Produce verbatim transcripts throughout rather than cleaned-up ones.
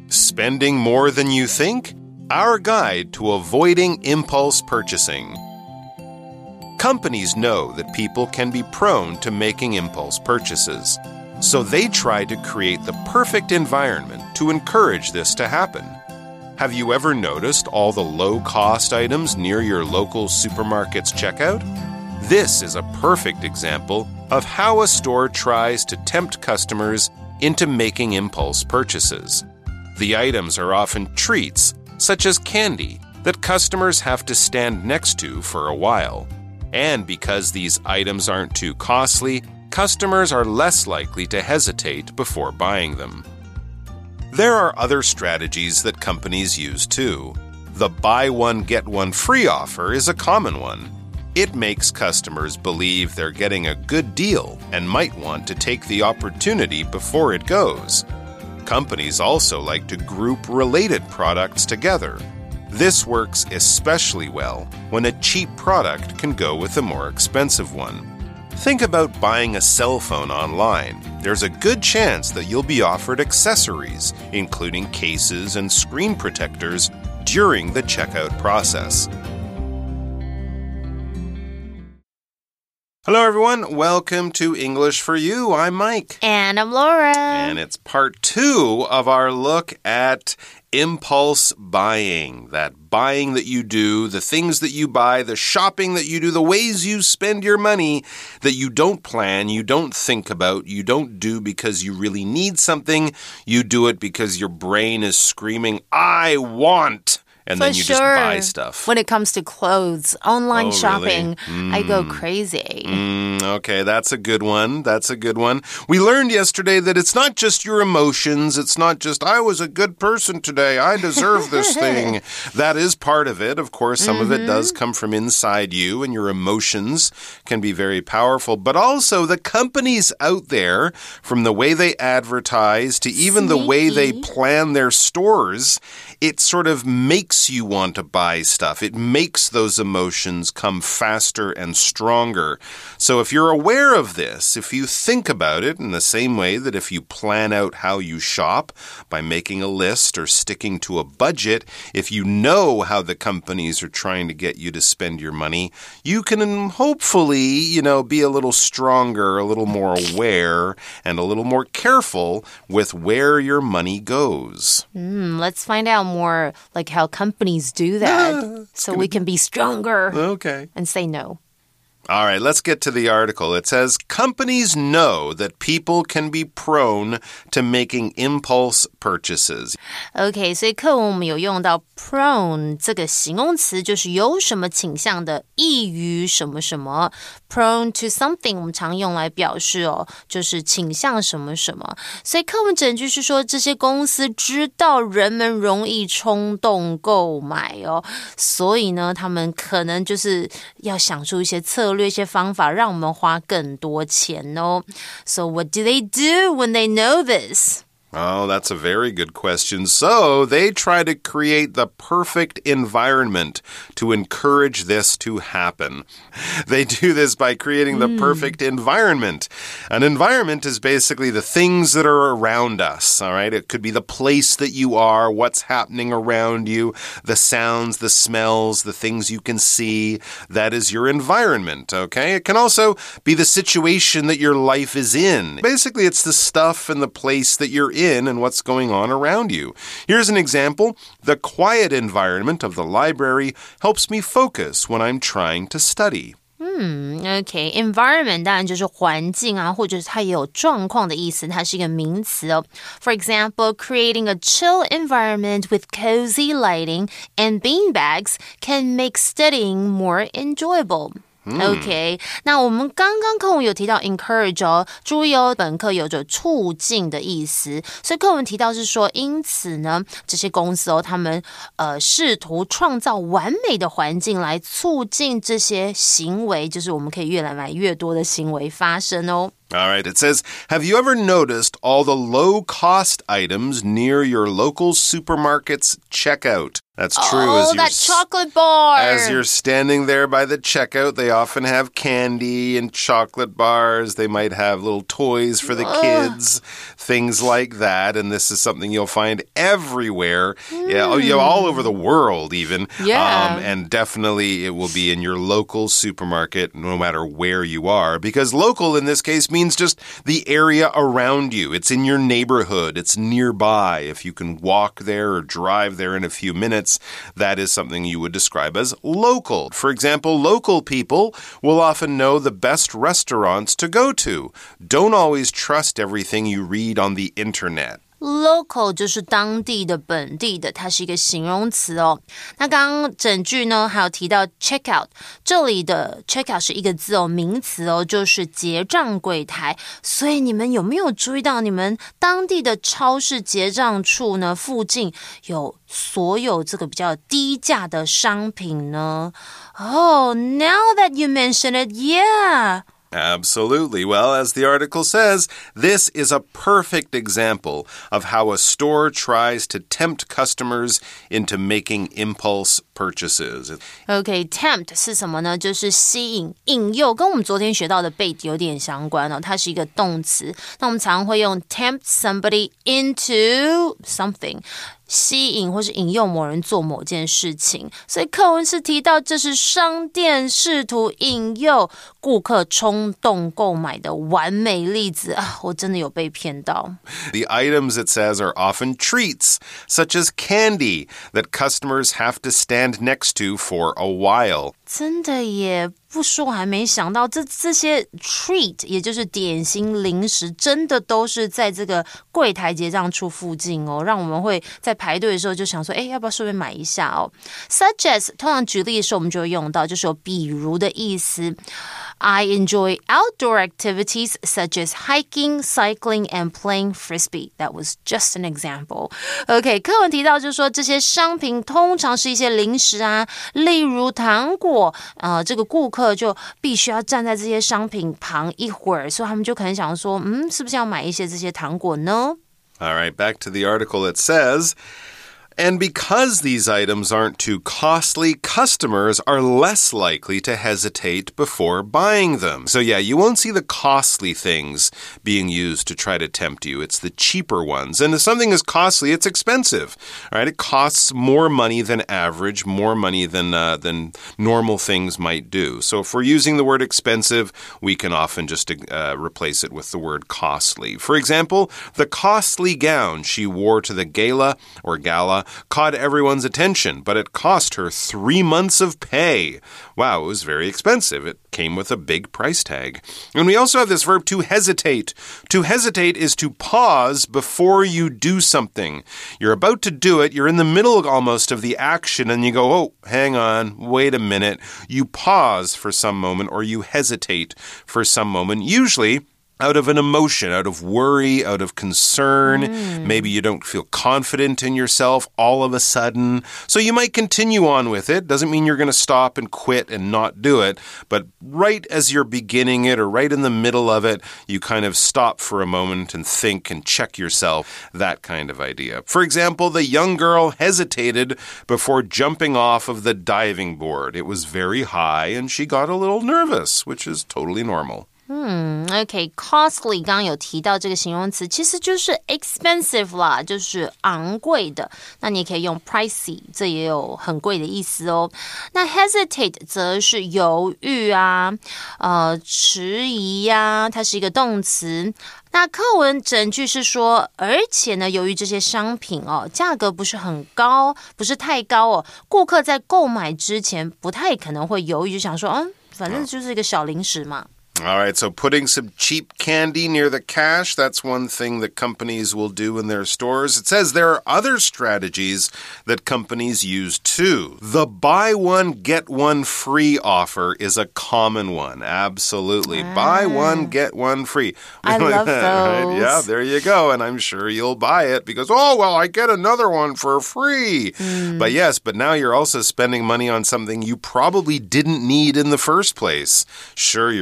Spending more than you think? Our guide to avoiding impulse purchasing. Companies know that people can be prone to making impulse purchases, so they try to create the perfect environment to encourage this to happen. Have you ever noticed all the low-cost items near your local supermarket's checkout? This is a perfect example of how a store tries to tempt customers into making impulse purchases. The items are often treats, such as candy, that customers have to stand next to for a while. And because these items aren't too costly, customers are less likely to hesitate before buying them. There are other strategies that companies use too. The buy one, get one free offer is a common one. It makes customers believe they're getting a good deal and might want to take the opportunity before it goes. Companies also like to group related products together. This works especially well when a cheap product can go with a more expensive one. Think about buying a cell phone online. There's a good chance that you'll be offered accessories, including cases and screen protectors, during the checkout process. Hello, everyone. Welcome to English for You. I'm Mike. And I'm Laura. And it's part two of our look at impulse buying. That buying that you do, the things that you buy, the shopping that you do, the ways you spend your money that you don't plan, you don't think about, you don't do because you really need something. You do it because your brain is screaming, I want. And For then you sure. just buy stuff. When it comes to clothes, online oh, shopping, really? mm. I go crazy. Mm, okay, that's a good one. That's a good one. We learned yesterday that it's not just your emotions. It's not just, I was a good person today. I deserve this thing. That is part of it. Of course, some mm-hmm. of it does come from inside you, and your emotions can be very powerful. But also the companies out there, from the way they advertise to even Sneaky. the way they plan their stores, it sort of makes you want to buy stuff. It makes those emotions come faster and stronger. So if you're aware of this, if you think about it in the same way that if you plan out how you shop by making a list or sticking to a budget, if you know how the companies are trying to get you to spend your money, you can hopefully, you know, be a little stronger, a little more aware, and a little more careful with where your money goes. Mm, let's find out more like how companies do that ah, so we can be stronger okay. and say no. All right, let's get to the article. It says, companies know that people can be prone to making impulse purchases. OK, 所以課文我們有用到 prone 這個形容詞，就是有什麼傾向的，易於什麼什麼。Prone to something 我們常用來表示哦，就是傾向什麼什麼。所以課文整句是說，這些公司知道人們容易衝動購買哦，所以呢，他們可能就是要想出一些策略、一些方法，讓我們花更多錢哦。So what do they do when they know this? Oh, that's a very good question. So they try to create the perfect environment to encourage this to happen. They do this by creating the mm. perfect environment. An environment is basically the things that are around us, all right? It could be the place that you are, what's happening around you, the sounds, the smells, the things you can see. That is your environment, okay? It can also be the situation that your life is in. Basically, it's the stuff and the place that you're in. in and what's going on around you. Here's an example. The quiet environment of the library helps me focus when I'm trying to study. 嗯 OK, environment 當然就是環境啊，或者是它也有狀況的意思，它是一個名詞哦。For example, creating a chill environment with cozy lighting and beanbags can make studying more enjoyable.OK, 那我們剛剛課文有提到 encourage 哦，注意哦，本課有着促進的意思，所以課文提到是說，因此呢，這些公司哦，他們呃試圖創造完美的環境來促進這些行為，就是我們可以越來越多的行為發生哦。 All right, it says, have you ever noticed all the low-cost items near your local supermarket's checkout? That's true. Oh, as that chocolate bar. As you're standing there by the checkout, they often have candy and chocolate bars. They might have little toys for the Ugh. kids, things like that. And this is something you'll find everywhere, mm. yeah, you know, all over the world even. Yeah. Um, and definitely it will be in your local supermarket, no matter where you are. Because local in this case means just the area around you. It's in your neighborhood. It's nearby. If you can walk there or drive there in a few minutes, that is something you would describe as local. For example, local people will often know the best restaurants to go to. Don't always trust everything you read on the internet. Local 就是当地的本地的，它是一个形容词哦。那刚刚整句呢還有提到 check out， 這裡的 check out 是一個字哦，名詞哦，就是結賬櫃檯。所以你們有沒有注意到你們當地的超市結賬處呢附近有所有這個比較低價的商品呢？ Oh, now that you mention it, yeah.Absolutely. Well, as the article says, this is a perfect example of how a store tries to tempt customers into making impulse purchases. Okay, tempt 是什麼呢？就是吸引、引誘，跟我們昨天學到的 bait 有點相關哦。它是一個動詞，那我們常會用 tempt somebody into something。吸引或是引誘某人做某件事情，所以課文是提到這是商店試圖引誘顧客衝動購買的完美例子啊！我真的有被騙到。 The items it says are often treats, such as candy, that customers have to stand next to for a while. 真的耶，不說我還沒想到，這這些 treat 也就是點心零食，真的都是在這個櫃檯結賬處附近哦，讓我們會在排隊的時候就想說，哎，要不要順便買一下哦 ？Such as 通常舉例的時候我們就會用到，就是有比如的意思。I enjoy outdoor activities such as hiking, cycling, and playing frisbee. That was just an example. OK, 課文提到就是說這些商品通常是一些零食啊，例如糖果，呃，這個顧客就必須要站在這些商品旁一會兒，所以他們就可能想說，嗯，是不是要買一些這些糖果呢？ All right, back to the article. It says...And because these items aren't too costly, customers are less likely to hesitate before buying them. So yeah, you won't see the costly things being used to try to tempt you. It's the cheaper ones. And if something is costly, it's expensive, right? It costs more money than average, more money than, uh, than normal things might do. So if we're using the word expensive, we can often just uh, replace it with the word costly. For example, the costly gown she wore to the gala or gala caught everyone's attention, but it cost her three months of pay. Wow, it was very expensive. It came with a big price tag. And we also have this verb to hesitate. To hesitate is to pause before you do something. You're about to do it. You're in the middle almost of the action, and you go, oh, hang on, wait a minute. You pause for some moment, or you hesitate for some moment. Usually out of an emotion, out of worry, out of concern. Mm. Maybe you don't feel confident in yourself all of a sudden. So you might continue on with it. Doesn't mean you're going to stop and quit and not do it. But right as you're beginning it or right in the middle of it, you kind of stop for a moment and think and check yourself. That kind of idea. For example, the young girl hesitated before jumping off of the diving board. It was very high and she got a little nervous, which is totally normal. 嗯 OK, costly 剛剛有提到這個形容詞，其實就是 expensive 啦，就是昂貴的。那你也可以用 pricey， 這也有很貴的意思哦。那 hesitate 則是猶豫啊，呃，遲疑呀，它是一個動詞。那課文整句是說，而且呢，由於這些商品哦，價格不是很高，不是太高哦，顧客在購買之前不太可能會猶豫，就想說，嗯，反正就是一個小零食嘛。 All right, so putting some cheap candy near the cash, that's one thing that companies will do in their stores. It says there are other strategies that companies use too. The buy one, get one free offer is a common one. Absolutely. Ah. Buy one, get one free. I love those. Right? Yeah, there you go. And I'm sure you'll buy it because, oh, well, I get another one for free. Mm. But yes, but now you're also spending money on something you probably didn't need in the first place. Sure, you're getting more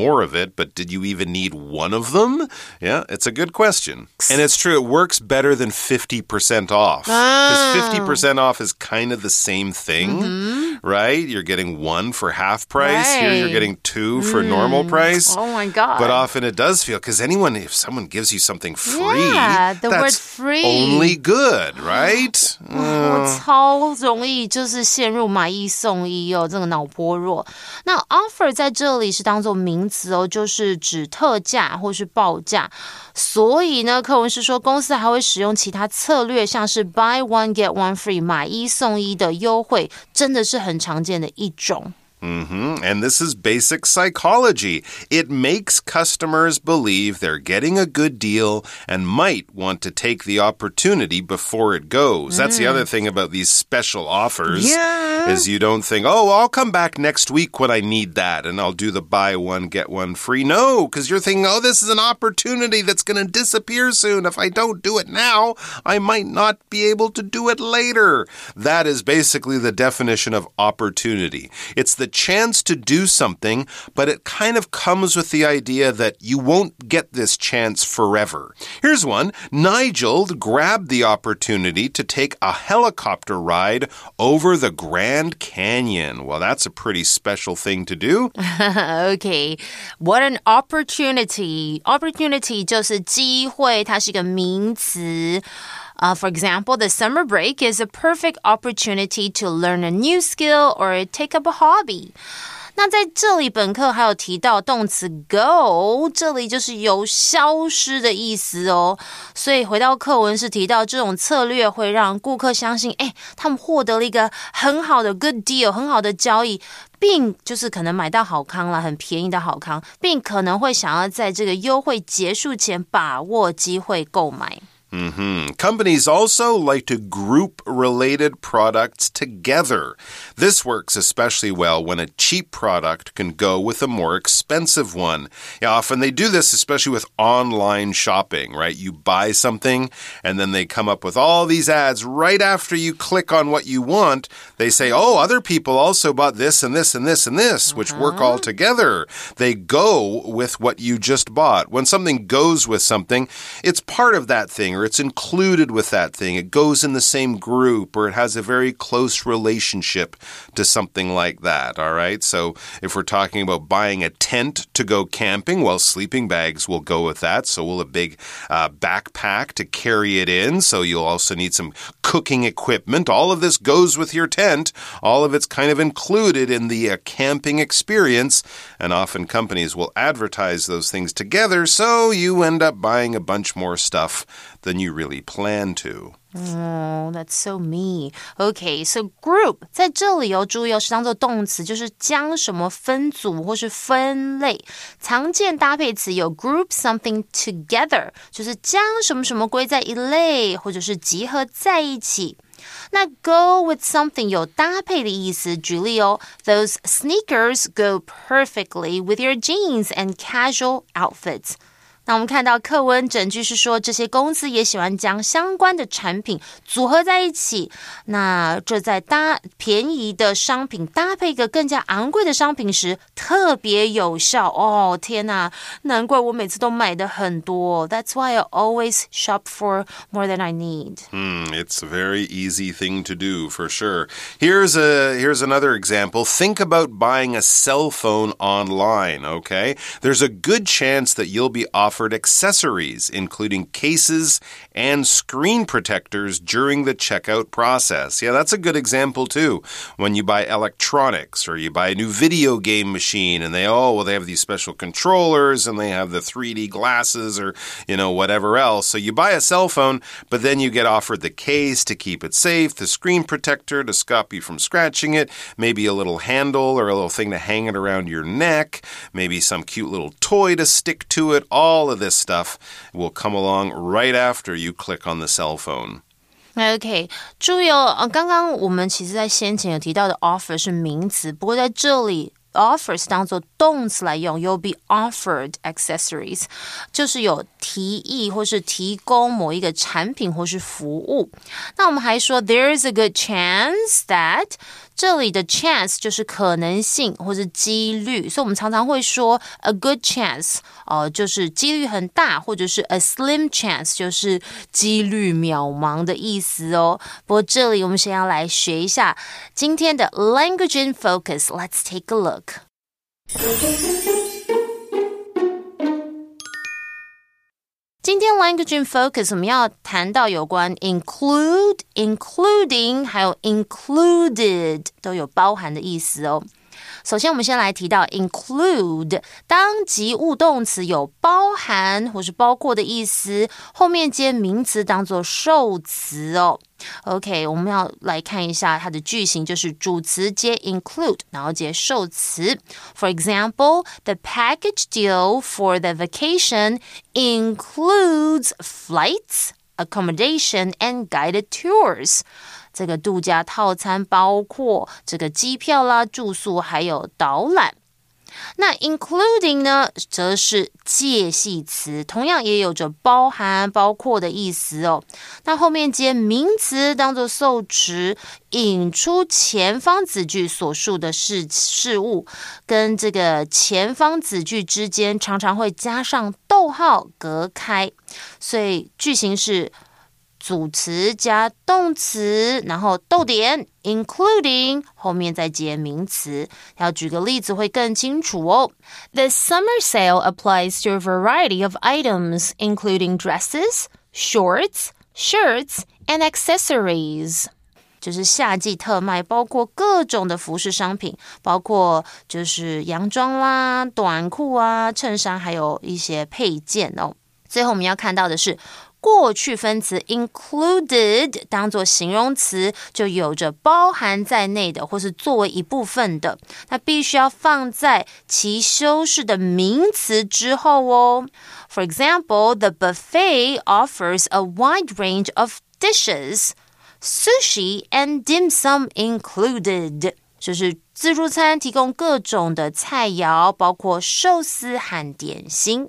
more of it, but did you even need one of them? Yeah, it's a good question. And it's true, it works better than fifty percent off. Because fifty percent off is kind of the same thing, mm-hmm. right? You're getting one for half price. Right. Here you're getting two for mm. normal price. Oh my God. But often it does feel, because anyone, if someone gives you something free, yeah, the that's word free. only good, right? 我超容易就是陷入买一送一哦，这個腦波弱。那 offer 在這裡是當作名詞哦，就是指特價或是報價。所以呢，課文是說公司還會使用其他策略，像是 buy one get one free 買一送一的優惠，真的是很常見的一種。 Mm-hmm. And this is basic psychology. It makes customers believe they're getting a good deal and might want to take the opportunity before it goes. Mm. That's the other thing about these special offers. Yeah. Is you don't think, oh, I'll come back next week when I need that and I'll do the buy one, get one free. No, because you're thinking, oh, this is an opportunity that's going to disappear soon. If I don't do it now, I might not be able to do it later. That is basically the definition of opportunity. It's the chance to do something, but it kind of comes with the idea that you won't get this chance forever. Here's one. Nigel grabbed the opportunity to take a helicopter ride over the Grand Canyon. Well, that's a pretty special thing to do. Okay. What an opportunity. Opportunity 就是機會，它是一個名詞。Uh, for example, the summer break is a perfect opportunity to learn a new skill or take up a hobby. 那在這裡本課還有提到動詞 go， 這裡就是有消失的意思哦。所以回到課文是提到這種策略會讓顧客相信，誒，他們獲得了一個很好的 good deal， 很好的交易，並就是可能買到好康了，很便宜的好康，並可能會想要在這個優惠結束前把握機會購買。 Mm-hmm. Companies also like to group related products together. This works especially well when a cheap product can go with a more expensive one. Yeah, often they do this, especially with online shopping, right? You buy something and then they come up with all these ads right after you click on what you want. They say, oh, other people also bought this and this and this and this, which uh-huh. work all together. They go with what you just bought. When something goes with something, it's part of that thing, or it's included with that thing. It goes in the same group, or it has a very close relationship to something like that, all right? So if we're talking about buying a tent to go camping, well, sleeping bags will go with that. So will a big uh, backpack to carry it in. So you'll also need some cooking equipment. All of this goes with your tent. All of it's kind of included in the uh, camping experience. And often companies will advertise those things together, so you end up buying a bunch more stuff than you really plan to. Oh, that's so me. Okay, so group 在這裡哦，注意哦，是當作動詞，就是將什麼分組或是分類。常見搭配詞有 group something together， 就是將什麼什麼歸在一類，或者是集合在一起。那 go with something 有搭配的意思，舉例哦 ，Those sneakers go perfectly with your jeans and casual outfits。那我們看到課文整句是說，這些公司也喜歡將相關的產品組合在一起。那這在搭便宜的商品搭配一個更加昂貴的商品時，特別有效。哦，天哪，難怪我每次都買的很多。That's why I always shop for more than I need. Hmm, it's a very easy thing to do, for sure. Here's a here's another example. Think about buying a cell phone online, okay? There's a good chance that you'll be offered accessories, including cases and screen protectors during the checkout process. Yeah, that's a good example too. When you buy electronics or you buy a new video game machine and they, oh, well, they have these special controllers and they have the three D glasses or, you know, whatever else. So you buy a cell phone, but then you get offered the case to keep it safe, the screen protector to stop you from scratching it, maybe a little handle or a little thing to hang it around your neck, maybe some cute little toy to stick to it. All of this stuff will come along right after you click on the cell phone. OK， 注意哦，剛剛我們其實在先前有提到的 offer 是名詞，不過在這裡 offer 是當作動詞來用 ，you'll be offered accessories， 就是有提議或是提供某一個產品或是服務。那我們還說 there is a good chance that 這裡的 chance 就是可能性或是幾率，所以我們常常會說 a good chance， 呃，就是幾率很大，或者是 a slim chance， 就是幾率渺茫的意思哦。不過這裡我們先要來學一下今天的 language in focus。Let's take a look. 今天 language in focus 我們要談到有關 include、including 還有 included 都有包含的意思哦。首先我們先來提到 include 當及物動詞有包含或是包括的意思，後面接名詞當作受詞哦。OK， 我們要來看一下它的句型，就是主詞接 include 然後接受詞。 For example, the package deal for the vacation includes flights, accommodation, and guided tours. 这個度假套餐包括這個機票啦、住宿還有導覽。那 including 呢，則是介系詞，同樣也有着包含、包括的意思哦。那後面接名詞當作受詞，引出前方子句所述的事事物，跟這個前方子句之間常常會加上逗號隔開，所以句型是主詞加動詞，然後逗點 including 後面再接名詞。要舉個例子會更清楚哦。The summer sale applies to a variety of items, including dresses, shorts, shirts, and accessories. 就是夏季特賣，包括各種的服飾商品，包括就是洋裝啦、短褲啊、襯衫，還有一些配件哦。最後我們要看到的是過去分詞 included 當作形容詞，就有着包含在內的或是作為一部分的，那必須要放在其修飾的名詞之後哦。For example, the buffet offers a wide range of dishes, sushi and dim sum included. 就是自助餐提供各種的菜肴，包括壽司和點心。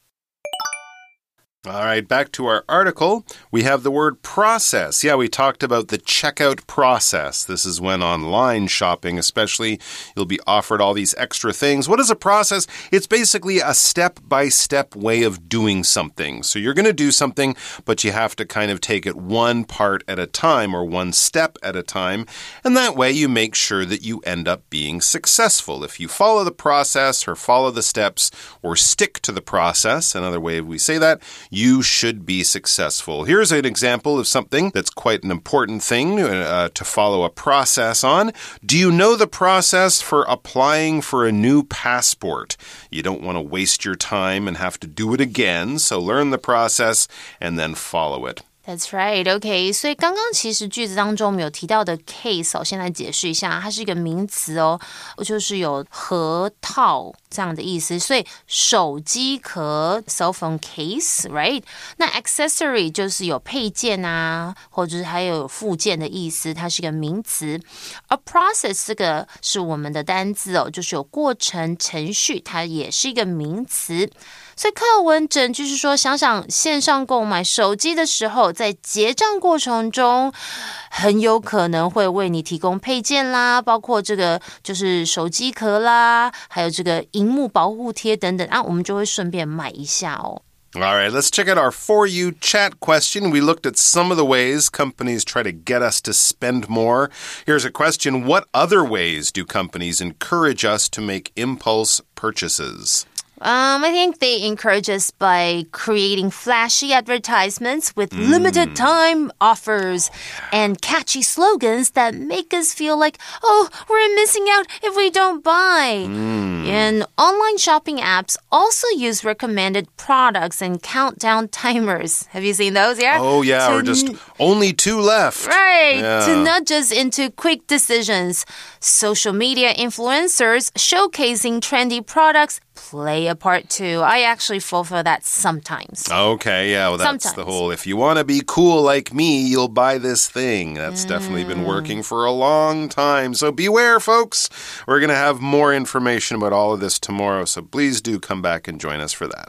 All right, back to our article. We have the word process. Yeah, we talked about the checkout process. This is when online shopping, especially, you'll be offered all these extra things. What is a process? It's basically a step-by-step way of doing something. So you're going to do something, but you have to kind of take it one part at a time or one step at a time. And that way you make sure that you end up being successful. If you follow the process or follow the steps or stick to the process, another way we say that, you should be successful. Here's an example of something that's quite an important thing uh, to follow a process on. Do you know the process for applying for a new passport? You don't want to waste your time and have to do it again, so learn the process and then follow it. That's right, OK. 所以剛剛其實句子當中我們有提到的 case 我先來解釋一下，它是一個名詞哦，就是有盒套這樣的意思，所以手機殼 cell phone case, right? 那 accessory 就是有配件啊，或者是還有附件的意思，它是一個名詞。A process 這個是我們的單字哦，就是有過程、程序，它也是一個名詞。所以課文整句是說，想想線上購買手機的時候，在結賬過程中很有可能會為你提供配件啦，包括這個就是手機殼啦，還有這個螢幕保護貼等等啊，我們就會順便買一下哦。 All right, let's check out our For You chat question. We looked at some of the ways companies try to get us to spend more. Here's a question. What other ways do companies encourage us to make impulse purchases? Um, I think they encourage us by creating flashy advertisements with mm. limited time offers and catchy slogans that make us feel like, oh, we're missing out if we don't buy. Mm. And online shopping apps also use recommended products and countdown timers. Have you seen those? Yeah. Oh, yeah. To or just n- only two left. Right. Yeah. To nudge us into quick decisions. Social media influencers showcasing trendy products play a part too. I actually fall for that sometimes. Okay, yeah, well, that's sometimes. The whole, if you want to be cool like me, you'll buy this thing. That's mm. definitely been working for a long time. So beware, folks. We're going to have more information about all of this tomorrow, so please do come back and join us for that.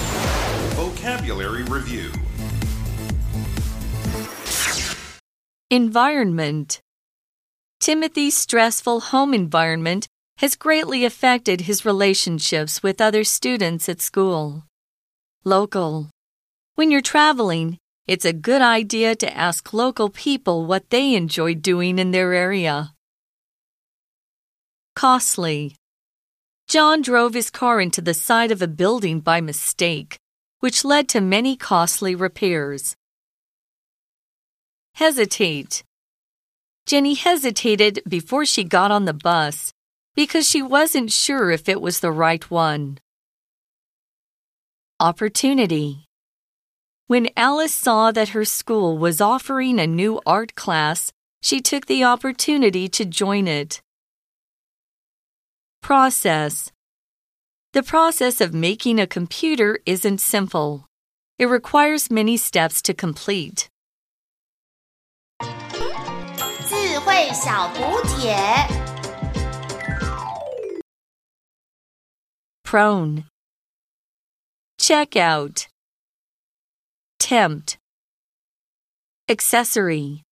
Vocabulary Review. Environment. Timothy's stressful home environment has greatly affected his relationships with other students at school. Local. When you're traveling, it's a good idea to ask local people what they enjoy doing in their area. Costly. John drove his car into the side of a building by mistake, which led to many costly repairs. Hesitate. Jenny hesitated before she got on the bus because she wasn't sure if it was the right one. Opportunity. When Alice saw that her school was offering a new art class, she took the opportunity to join it. Process. The process of making a computer isn't simple. It requires many steps to complete. 智慧小补帖 Prone. Check out. Tempt. Accessory.